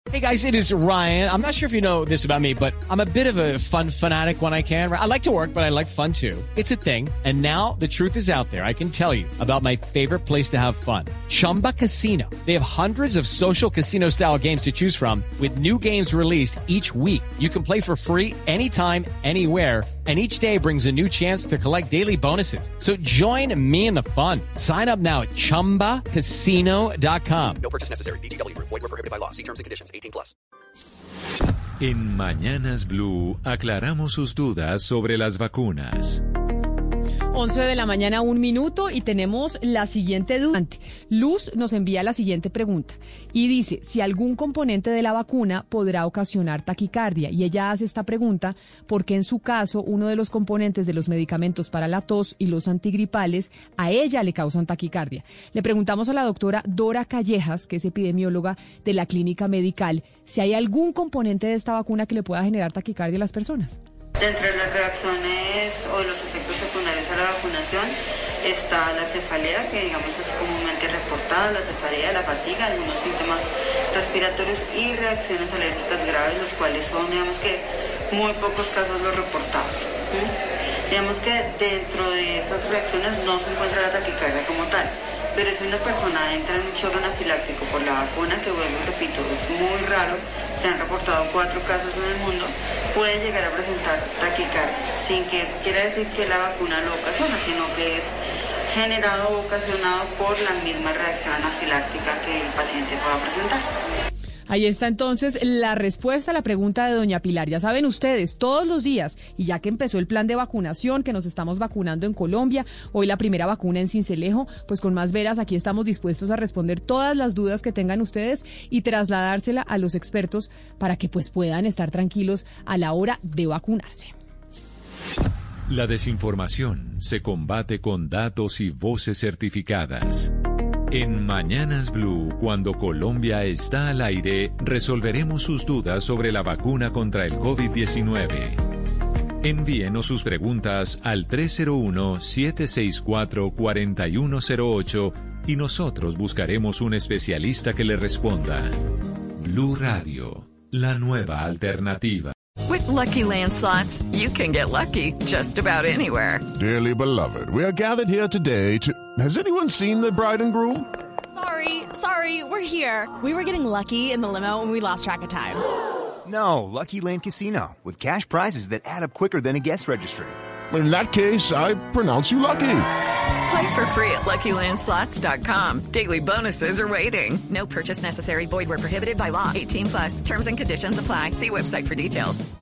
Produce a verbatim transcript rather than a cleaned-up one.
Hey guys, it is Ryan. I'm not sure if you know this about me, but I'm a bit of a fun fanatic when I can. I like to work, but I like fun too. It's a thing. And now the truth is out there. I can tell you about my favorite place to have fun. Chumba Casino. They have hundreds of social casino style games to choose from with new games released each week. You can play for free anytime, anywhere. And each day brings a new chance to collect daily bonuses. So join me in the fun. Sign up now at chumba casino dot com. No purchase necessary. V G W. Void where prohibited by law. See terms and conditions. eighteen plus. En Mañanas Blue aclaramos sus dudas sobre las vacunas. once de la mañana, un minuto, y tenemos la siguiente duda. Luz nos envía la siguiente pregunta y dice si algún componente de la vacuna podrá ocasionar taquicardia. Y ella hace esta pregunta porque en su caso uno de los componentes de los medicamentos para la tos y los antigripales a ella le causan taquicardia. Le preguntamos a la doctora Dora Callejas, que es epidemióloga de la Clínica Medical, si hay algún componente de esta vacuna que le pueda generar taquicardia a las personas. Dentro de las reacciones o los efectos secundarios a la vacunación está la cefalea, que digamos es comúnmente reportada, la cefalea, la fatiga, algunos síntomas respiratorios y reacciones alérgicas graves, los cuales son, digamos que, muy pocos casos los reportados. ¿Sí? Digamos que dentro de esas reacciones no se encuentra la taquicardia como tal, pero si una persona entra en un shock anafiláctico por la vacuna, que vuelvo y repito, es muy raro, se han reportado cuatro casos en el mundo, puede llegar a presentar taquicardia, sin que eso quiera decir que la vacuna lo ocasiona, sino que es generado o ocasionado por la misma reacción anafiláctica que el paciente pueda presentar. Ahí está entonces la respuesta a la pregunta de doña Pilar. Ya saben ustedes, todos los días, y ya que empezó el plan de vacunación, que nos estamos vacunando en Colombia, hoy la primera vacuna en Sincelejo, pues con Más Veras aquí estamos dispuestos a responder todas las dudas que tengan ustedes y trasladársela a los expertos para que pues puedan estar tranquilos a la hora de vacunarse. La desinformación se combate con datos y voces certificadas. En Mañanas Blue, cuando Colombia está al aire, resolveremos sus dudas sobre la vacuna contra el COVID diecinueve. Envíenos sus preguntas al tres cero uno, siete seis cuatro, cuatro uno cero ocho y nosotros buscaremos un especialista que le responda. Blue Radio, la nueva alternativa. With Lucky Land Slots, you can get lucky just about anywhere. Dearly beloved, we are gathered here today to... Has anyone seen the bride and groom? Sorry, sorry, we're here. We were getting lucky in the limo and we lost track of time. No, Lucky Land Casino, with cash prizes that add up quicker than a guest registry. In that case, I pronounce you lucky. Play for free at lucky land slots dot com. Daily bonuses are waiting. No purchase necessary. Void where prohibited by law. eighteen plus. Terms and conditions apply. See website for details.